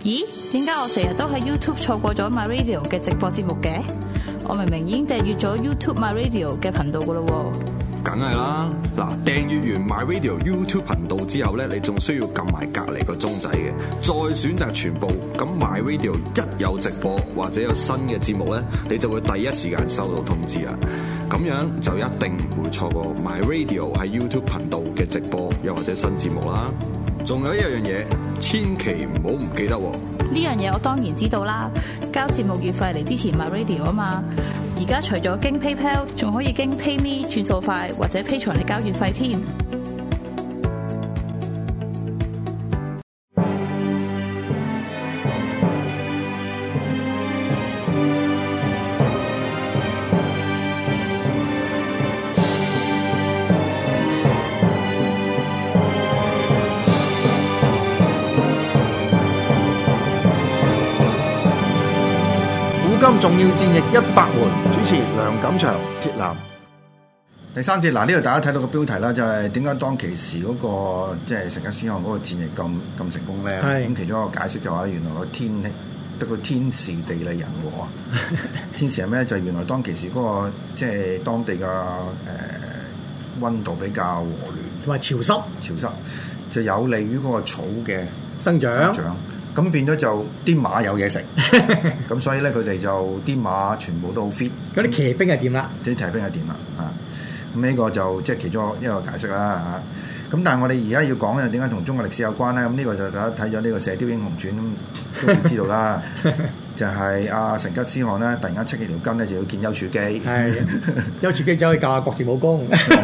咦？點解我成日都喺 YouTube 錯過咗 My Radio 嘅直播節目嘅？我明明已經訂閱咗 YouTube My Radio 嘅頻道噶咯喎。 梗係啦，嗱，訂閱完 My Radio YouTube 頻道之後咧，你仲需要撳埋隔離個鐘仔嘅，再選擇全部。咁 My Radio 一有直播或者有新嘅節目咧，你就會第一時間收到通知啦。咁樣就一定唔會錯過 My Radio 喺 YouTube 頻道嘅直播又或者新節目啦。仲有一樣嘢，千祈唔好唔記得喎。 呢樣嘢我當然知道啦，交節目月費嚟支持 My Radio 啊嘛。而家除咗經 PayPal， 仲可以經 PayMe 轉數快或者 Patreon嚟交月費添。 重要戰役100回，主持梁錦祥、鐵男。第三節嗱，呢度大家睇到個標題啦，就係點解當其時嗰個即係成吉思汗嗰個戰役咁成功咧？咁其中一個解釋就話，原來個天氣得個天時地利人和啊！天時係咩？就係原來當其時嗰個即係當地嘅溫度比較和暖， 同埋潮濕， 就有利於嗰個草嘅生長。 咁變咗就啲馬有嘢食，咁所以咧佢哋就啲馬全部都好 fit。 嗰啲騎兵係點啦？ 啲騎兵係點啦？啊，咁呢個就即係其中一個解釋啦嚇。咁但係我哋而家要講嘅點解同中國歷史有關咧？咁呢個就大家睇咗呢個《射雕英雄傳》都會知道啦。就係阿成吉思汗咧，突然間戚起條筋咧，就要見丘處機。係丘處機走去教下國字武功。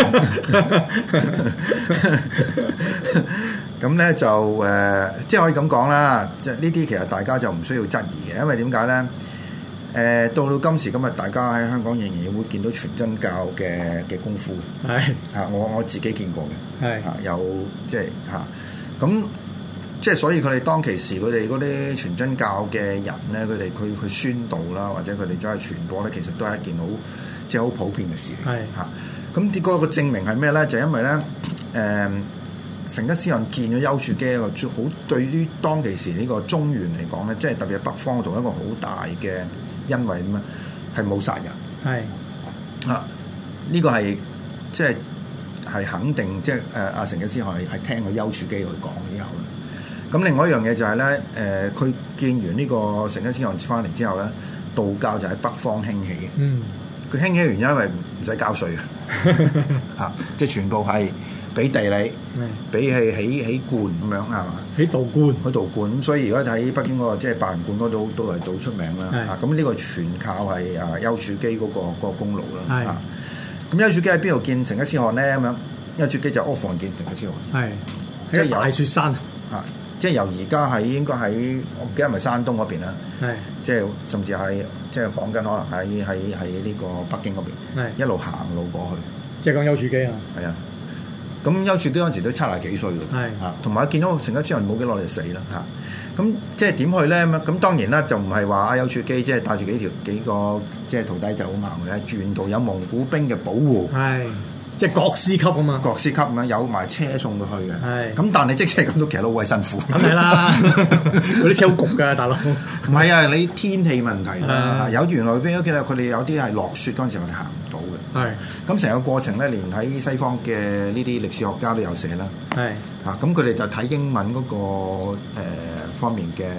咁咧就即係可以咁講啦，即係呢啲其實大家就唔需要質疑嘅，因為點解咧？到今時今日，大家喺香港仍然會見到全真教嘅功夫。係我自己見過嘅。係有即係咁即係所以佢哋當其時佢哋嗰啲全真教嘅人咧，佢宣導啦，或者佢哋走去傳播咧，其實都係一件好即係好普遍嘅事。係咁結果個證明係咩咧？就係因為咧成吉思汗見咗丘處機一個好，對於當其時呢個中原嚟講咧，即係特別係北方嗰度一個好大嘅恩惠咁啊，係冇殺人。係呢個係即係肯定，即係阿成吉思汗係聽過丘處機去講之後咧。咁另外一樣嘢就係咧，佢見完呢個成吉思汗翻嚟之後咧，道教就喺北方興起嘅。嗯，佢興起嘅原因因為唔使交稅嘅，即係全部係俾地理，俾起觀咁樣係嘛？起道觀，咁所以而家喺北京嗰個即係白雲觀嗰度都係好出名啦。咁呢個全靠係丘處機嗰個功勞啦。咁丘處機喺邊度見成吉思汗咧？咁樣丘處機就阿房見成吉思汗。係即係大雪山即係由而家喺應該喺我唔記得係咪山東嗰邊啦。係即係甚至係即係講緊可能喺呢個北京嗰邊，一路行路過去。即係講丘處機啊？係啊。咁丘處機嗰陣時都70幾歲㗎，同埋見到成吉思汗冇幾耐就死啦嚇。咁即係點去咧？咁當然啦，就唔係話阿丘處機即係帶住幾個即係徒弟就咁行去，係沿途有蒙古兵嘅保護，即係國師級啊嘛，國師級咁樣有埋車送佢去嘅。咁但係即使係咁都其實都好鬼辛苦。咁係啦，嗰啲車好焗㗎，大佬。唔係啊，你天氣問題啦。有原來邊其實佢哋有啲係落雪嗰陣時，我哋行唔到嘅。咁成個過程咧，連喺西方嘅呢啲歷史學家都有寫啦。咁佢哋就睇英文嗰個方面嘅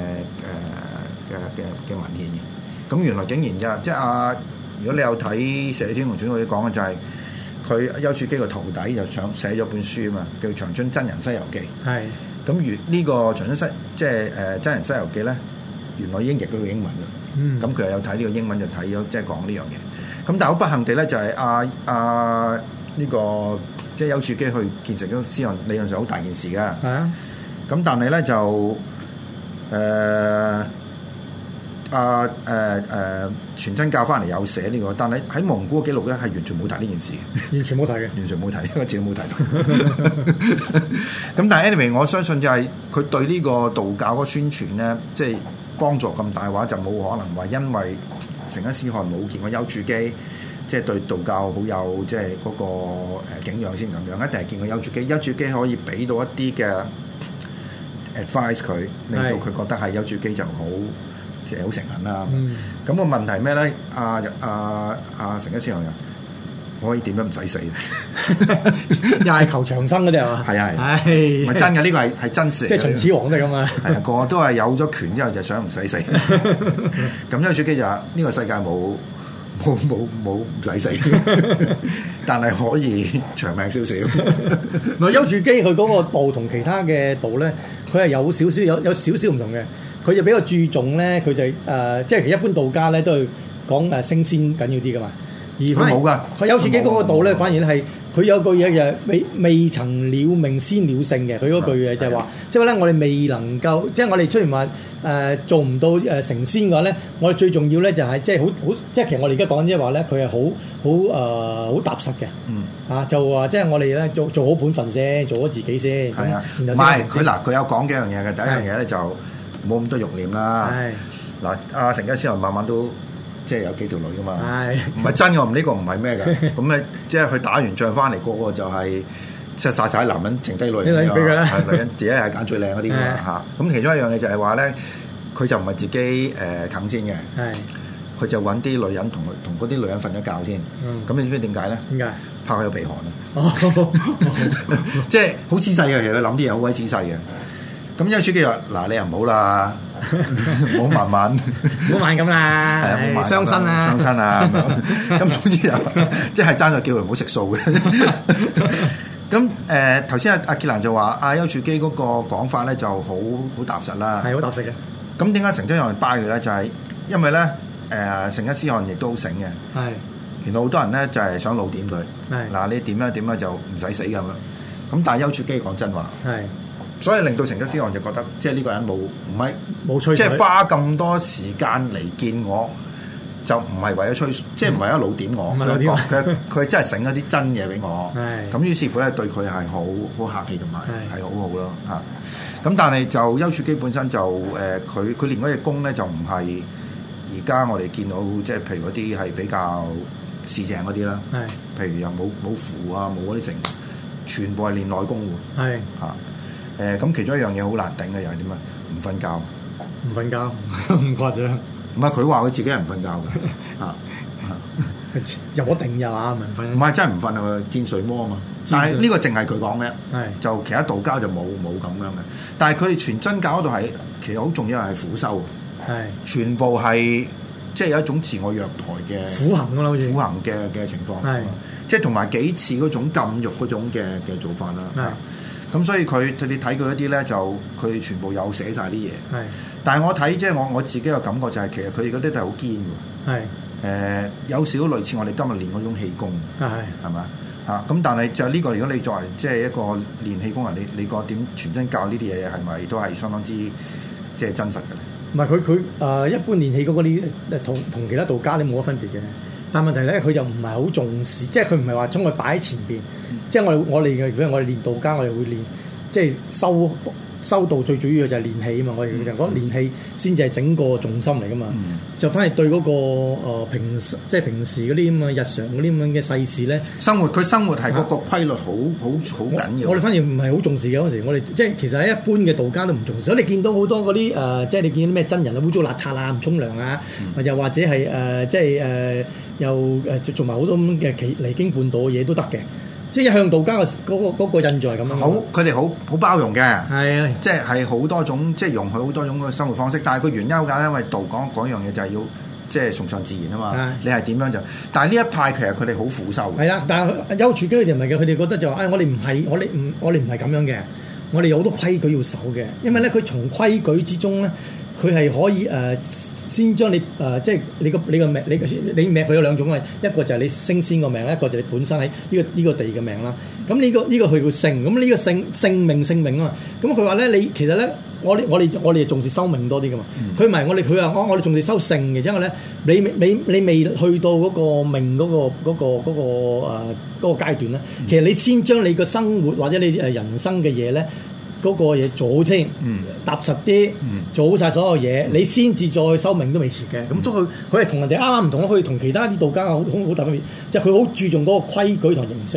文獻嘅。咁原來竟然即係如果你有睇《射雕英雄傳》，佢講嘅就係。佢丘處機個徒弟就寫咗本書啊嘛，叫《長春真人西遊記》。係咁，如呢個長春即係真人西遊記咧，原來已經譯咗個英文嘅。咁佢又有睇呢個英文，就睇咗即係講呢樣嘢。咁但係好不幸地咧，就係呢個即係丘處機去見成吉思汗，理論上好大件事㗎。係啊。咁但係咧就全真教翻嚟有寫呢個，但係喺蒙古嘅記錄咧係完全冇提呢件事嘅，完全冇提嘅，完全冇提，一個字都冇提到。咁但係 anyway， 我相信就係佢對呢個道教嗰個宣傳咧，即係幫助咁大話，就冇可能話因為成吉思汗冇見過丘處機，即係對道教好有即係嗰個敬仰先咁樣，一定係見過丘處機。丘處機可以俾到一啲嘅 advise 佢，令到佢覺得係丘處機就好即係好誠懇啦。咁個問題咩咧？成吉思汗可以點樣唔使死？ 又係求長生嗰啲係嘛？ 係啊係，唔係真嘅，呢個係真事嚟嘅。 即係秦始皇都係咁啊！ 係啊，個個都係有咗權之後就想唔使死。咁丘處機就話：呢個世界冇唔使死，但係可以長命少少。 唔係丘處機佢嗰個道同其他嘅道咧，佢係有少少唔同嘅。佢就比較注重咧，佢就即係其實一般道家咧都係講升仙緊要啲噶嘛。而佢冇噶，佢丘處機嗰個道咧，反而係佢有句嘢就係未曾了命先了性嘅。佢嗰句嘢就係話，即係咧我哋未能夠，即係我哋雖然話做唔到成仙嘅話咧，我哋最重要咧就係即係好，即係其實我哋而家講即係話咧，佢係好踏實嘅。就話即係我哋咧做好本分先，做咗自己先。係啊，唔係佢有講幾樣嘢嘅。第一樣嘢咧就冇咁多慾念啦。嗱，阿成吉思汗慢慢都。即係有幾條女噶嘛，唔係真嘅，呢個唔係咩嘅。咁咧，即係佢打完仗翻嚟，個個就係即係曬男人，剩低女人俾佢啦。女人自己係揀最靚嗰啲㗎嚇。咁其中一樣嘢就係話咧，佢就唔係自己啃先嘅，佢就揾啲女人同嗰啲女人瞓咗覺先。咁你知唔知點解咧？點解？怕佢有鼻鼾啊！即係好仔細嘅，其實佢諗啲嘢好鬼仔細嘅。咁丘處機話：嗱，你又唔好啦。唔好慢慢，唔好慢咁啦，係啊，傷身啊， 傷身啊，咁總之又即係爭咗叫佢唔好食素嘅。咁頭先阿傑蘭就話丘處機嗰個講法咧就好踏實啦， 係好踏實嘅。 咁點解成吉思汗拜佢咧？就係因為咧成吉思汗亦都好醒嘅，係原來好多人咧就係想老點佢，嗱你點啊就唔使死咁樣。咁但係丘處機講真話，係。所以令到成吉思汗就覺得，即係呢個人冇吹，即係花咁多時間嚟見我，就唔係為咗吹，即係唔係為咗老點我。佢真係醒咗啲真嘢俾我。咁於是乎咧，對佢係好客氣同埋係好好咯嚇。咁但係就丘處機本身就佢練嗰隻功咧就唔係而家我哋見到，即係譬如嗰啲係比較市井嗰啲啦。譬如又冇符啊，冇嗰啲成，全部係練內功喎。係嚇。咁其中一樣嘢好難頂嘅又係點啊？唔瞓覺， 唔瞓覺，唔誇張。 唔係佢話佢自己係唔瞓覺嘅， 有一定有啊，唔瞓。 唔係真係唔瞓啊，見睡魔啊嘛。但係呢個淨係佢講嘅，就其他道教就冇咁樣嘅。但係佢哋全真教嗰度係其實好重要係苦修，全部係即係有一種自我虐待嘅苦行㗎啦，好似苦行嘅情況，即係同埋幾次嗰種禁欲嗰種嘅做法啦。咁所以你睇佢一啲咧，就佢全部有寫晒啲嘢。係，但係我睇即係我自己嘅感覺就係，其實佢哋嗰啲都係好堅嘅。係，有少少類似我哋今日練嗰種氣功。係嘛？咁但係就呢個，如果你作為即係一個練氣功人，你個點全真教呢啲嘢係咪都係相當之即係真實嘅咧？ 唔係佢一般練氣功嗰啲同其他道家你冇乜分別嘅。但問題咧，佢就唔係好重視，即係佢唔係話將佢擺喺前邊。即係我哋嘅，如果我哋練道家，我哋會練，即係修道最主要嘅就係練氣啊嘛。我哋就講練氣先至係整個重心嚟噶嘛。就反而對嗰個平時嗰啲咁嘅日常嗰啲咁嘅世事咧， 佢生活係嗰個規律好緊要。 我哋反而唔係好重視嘅嗰陣時，我哋即係其實喺一般嘅道家都唔重視。所以你見到好多嗰啲即係你見啲咩真人啊，污糟邋遢啊，唔沖涼啊，又或者係即係又做埋好多咁嘅離經叛道嘅嘢都得嘅。即係一向道家嘅嗰個印象係咁樣。好， 佢哋好包容嘅。 係啊， 即係好多種，即係容許好多種嘅生活方式。但係個原因好簡單，因為道講樣嘢就係要即係崇尚自然啊嘛。你係點樣就？但係呢一派其實佢哋好苦修。係啦，但係丘處機佢哋唔係嘅，佢哋覺得就話：我哋唔係咁樣嘅，我哋有好多規矩要守嘅。因為咧，佢從規矩之中咧，佢係可以先將你即係你個命，你命佢有兩種啊，一個就係你升仙個命，一個就係你本身喺呢個地嘅命啦。咁呢個佢叫性，咁呢個性命啊嘛。咁佢話咧，你其實咧，我哋重視修命多啲噶嘛。佢唔係佢話我哋重視修性嘅，因為咧你未去到嗰個命嗰個階段咧，其實你先將你個生活或者你人生嘅嘢咧。嗰個嘢做好先，踏實啲，做好晒所有嘢，你先至再修命都未遲嘅。咁都佢係同人哋啱啱唔同咯，佢同其他啲道家好大分別，即係佢好注重嗰個規矩同形式咯。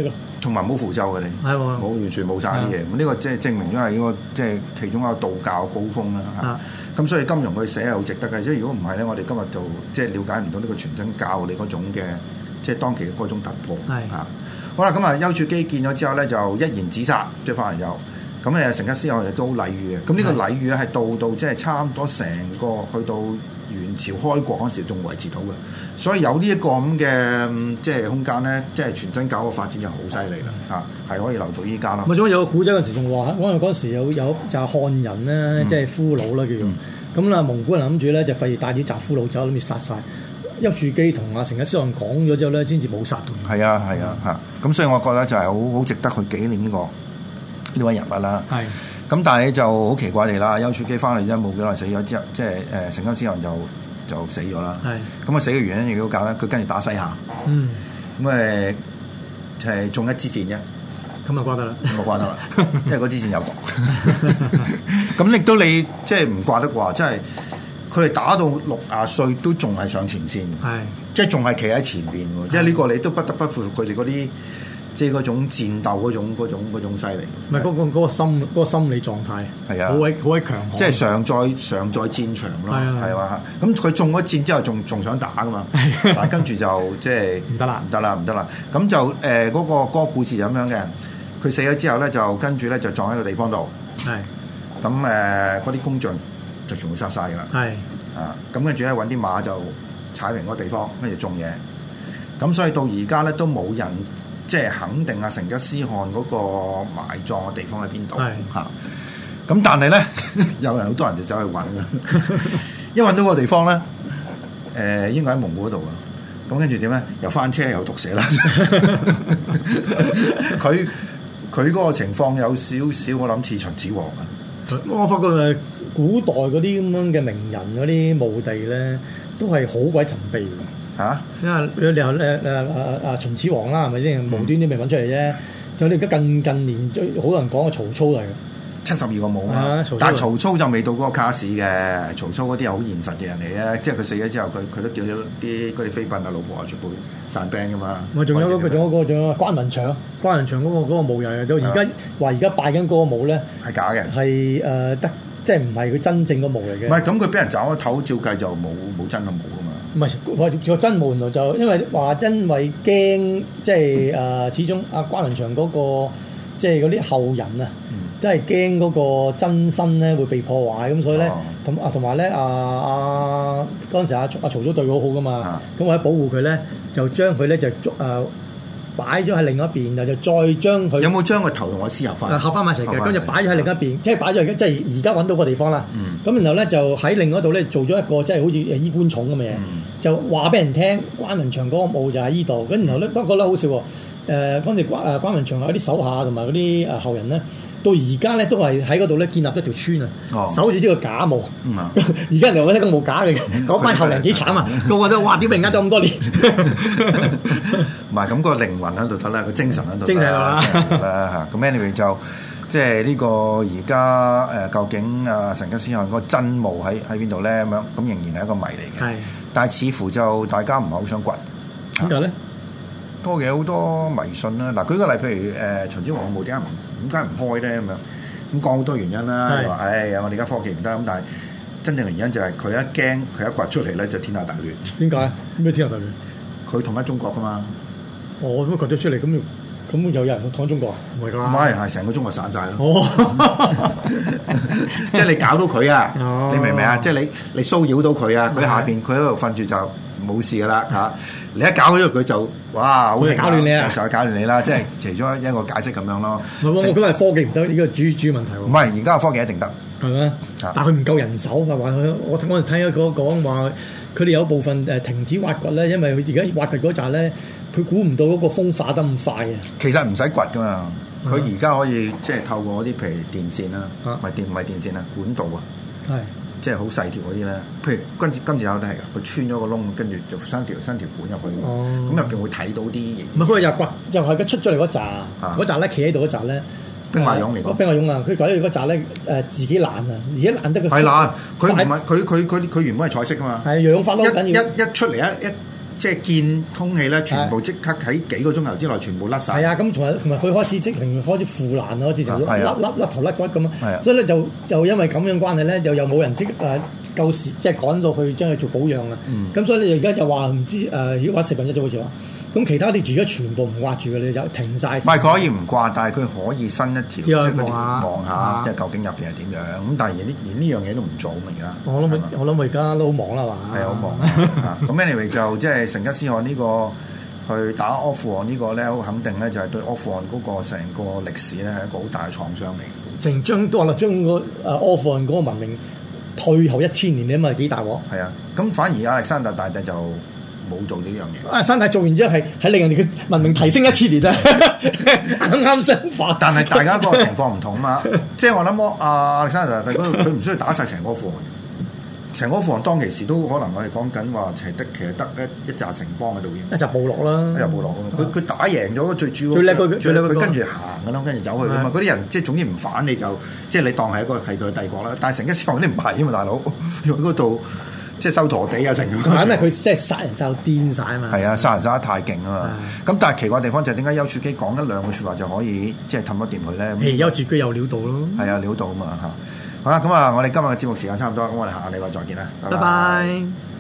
同埋冇符咒嘅你， 係喎冇完全冇晒啲嘢。咁呢個即係證明咗係呢個即係其中一個道教高峰啦嚇。咁所以金庸佢寫係好值得嘅，即係如果唔係咧，我哋今日就即係了解唔到呢個全真教你嗰種嘅即係當期嘅嗰種突破嚇。好啦，咁啊丘處機見咗之後咧，就一言指殺，即係翻嚟有。咁誒成吉思汗亦都好禮遇嘅。咁呢個禮遇咧係到即係差唔多成個去到元朝開國嗰陣時仲維持到嘅。所以有呢一個咁嘅即係空間咧，即係全真教嘅發展就好犀利啦嚇，係可以留到依家啦。 咪仲有個古仔嗰陣時仲話，因為嗰陣時有就係漢人咧，即係俘虜啦叫做。咁啦，蒙古人諗住咧就費事帶啲雜俘虜走，諗住殺晒。丘處機同阿成吉思汗講咗之後咧，先至冇殺到。係啊嚇，咁所以我覺得就係好值得去紀念呢位人物啦。係。咁但係就好奇怪地啦，丘處機翻嚟啫冇幾耐死咗之後，即係成吉思汗就死咗啦。係。咁啊死嘅原因亦都搞啦，佢跟住打西夏。咁係中一支箭啫。 咁啊掛得啦。 咁啊掛得啦，因為嗰支箭有毒。咁亦都你即係唔掛得啩？即係。佢哋打到60歲都仲係上前線，即係仲係企喺前邊喎，即係呢個你都不得不佩服佢哋嗰啲，即係嗰種戰鬥嗰種犀利。唔係嗰個心理狀態係啊，好鬼強悍， 即係常在戰場咯，係嘛？咁佢中咗箭之後仲想打噶嘛？但係跟住就即係唔得啦。咁就嗰個故事咁樣嘅，佢死咗之後咧，就跟住咧就撞喺個地方度，咁嗰啲工匠就全部殺晒㗎啦，咁跟住咧揾啲馬就踩平嗰個地方，跟住種嘢。咁所以到而家咧都冇人即係肯定阿成吉思汗嗰個埋葬嘅地方喺邊度嚇。咁但係咧有人好多人就走去揾啦，一揾到個地方咧，應該喺蒙古嗰度啊。咁跟住點咧？又翻車又毒死啦。佢嗰個情況有少少我諗似秦始皇啊。 我發覺古代嗰啲咁樣嘅名人嗰啲墓地咧，都係好鬼神秘嘅嚇。因為你話秦始皇啦，係咪先？無端端未揾出嚟啫。就你而家近年最好多人講嘅曹操嚟嘅 72個墓啊，但係曹操就未到嗰個卡士嘅。曹操嗰啲係好現實嘅人嚟嘅，即係佢死咗之後，佢都叫咗嗰啲妃嬪啊、老婆啊全部散兵噶嘛。咪仲有關雲長嗰個墓又到而家話而家拜緊嗰個墓咧係假嘅， 係得即係唔係佢真正個墓嚟嘅。 唔係咁佢俾人斬咗頭，照計就冇真嘅墓噶嘛。 唔係個真墓就因為驚即係始終阿關雲長嗰個即係嗰啲後人啊。真係驚嗰個真身咧會被破壞，咁所以咧同埋咧嗰陣時阿曹操對佢好好噶嘛，咁為咗保護佢咧，就將佢咧就擺咗喺另一邊，然後就再將佢有冇將個頭同我屍合翻？ 合翻埋一齊嘅，咁就擺咗喺另一邊，即係擺咗即係而家揾到個地方啦。咁然後咧就喺另一度咧做咗一個即係好似衣冠冢咁嘅嘢，就話俾人聽關雲長嗰個墓就喺依度。咁然後咧不過咧好笑喎，嗰陣時關雲長有啲手下同埋嗰啲後人咧。到而家咧都係喺嗰度咧建立一條村啊，守住呢個假墓。而家人哋覺得個墓假嘅，嗰班後人幾慘啊！個個都哇點解呃咗咁多年？ 唔係咁個靈魂喺度得啦，個精神喺度。 精神啦嚇。咁 anyway 就即係呢個而家究竟成吉思汗嗰個真墓喺邊度咧？咁樣咁仍然係一個謎嚟嘅。係。但係似乎就大家唔係好想掘。 點解咧？ 多嘅好多迷信啦。嗱，舉個例，譬如秦始皇嘅墓點解唔開咧？咁樣咁講好多原因啦。你話我哋而家科技唔得咁，但係真正嘅原因就係佢一驚，佢一掘出嚟咧就天下大亂。 點解？咩天下大亂？ 佢統一中國噶嘛？ 咁掘咗出嚟咁有人統中國啊？唔係㗎。 唔係，係成個中國散晒咯。即係你搞到佢啊！你明唔明啊？即係你騷擾到佢啊！佢下邊佢喺度瞓住就冇事㗎啦嚇。你一搞咗佢就哇，好似搞亂你啊！ 就搞亂你啦，即係其中一個解釋咁樣咯。 唔係我覺得係科技唔得，呢個主要問題喎。 唔係而家嘅科技一定得， 係咩？但係佢唔夠人手啊！話我哋睇咗講話，佢哋有部分停止挖掘咧，因為佢而家挖掘嗰陣咧，佢估唔到嗰個風化得咁快啊！ 其實唔使掘噶嘛，佢而家可以即係透過嗰啲譬如電線啦，唔係電線啊，管道啊，係。即係好細條嗰啲咧，譬如金字塔都係㗎，佢穿咗個窿，跟住就伸條管入去，咁入邊會睇到啲嘢。唔係佢又掘，就係佢出咗嚟嗰扎咧，企喺度嗰扎咧，兵馬俑嚟㗎。兵馬俑啊，佢舉嗰扎咧自己爛啊，而且爛得個係爛，佢唔係佢原本係彩色㗎嘛，係氧化咯，緊要一出嚟一即係見空氣咧，全部即刻喺幾個鐘頭之內全部甩晒。 係啊，咁同埋佢開始即係開始腐爛，開始就甩頭甩骨咁啊。所以咧就因為咁樣關係咧，又冇人夠時即係趕到去將佢做保養啊。咁所以你而家就話唔知如果話四分一啫好似話。咁其他啲住而家全部唔刮住嘅，你就停晒。 唔係佢可以唔刮，但係佢可以伸一條，即係佢望下，即係究竟入邊係點樣。咁但係連呢樣嘢都唔做咁而家。 我諗而家都好忙啦嘛。 係啊，好忙。咁 anyway 就即係成吉思汗呢個去打阿富汗呢個咧，好肯定咧就係對阿富汗嗰個成個歷史咧係一個好大嘅創傷嚟。 淨將個阿富汗嗰個文明退後1000年，你諗下幾大鑊？ 係啊，咁反而亞歷山大大帝就冇做呢樣嘢。山大做完之後係令人哋嘅文明提升1000年啊！啱相反。 但係大家嗰個情況唔同啊嘛，即係我諗亞歷山大大帝佢唔需要打晒成個阿富汗，成個阿富汗當其時都可能我哋講緊話其實得一紮城邦喺度嘅， 一紮部落啦， 一紮部落佢打贏咗最主要佢跟住行㗎啦，跟住走去㗎嘛。嗰啲人即係總之唔反你就即係你當係佢嘅帝國啦。但係成吉思汗啲唔係啊嘛，大佬用嗰度。即係收陀地啊，成咁。 係因為佢即係殺人殺到癲晒啊嘛。係啊，殺人殺得太勁啊嘛。咁但係奇怪地方就係點解丘處機講一兩句説話就可以即係氹得掂佢咧？ 丘處機有料到咯。 係啊，料到啊嘛嚇。好啦，咁啊，我哋今日嘅節目時間差唔多，咁我哋下個禮拜再見啦。拜拜。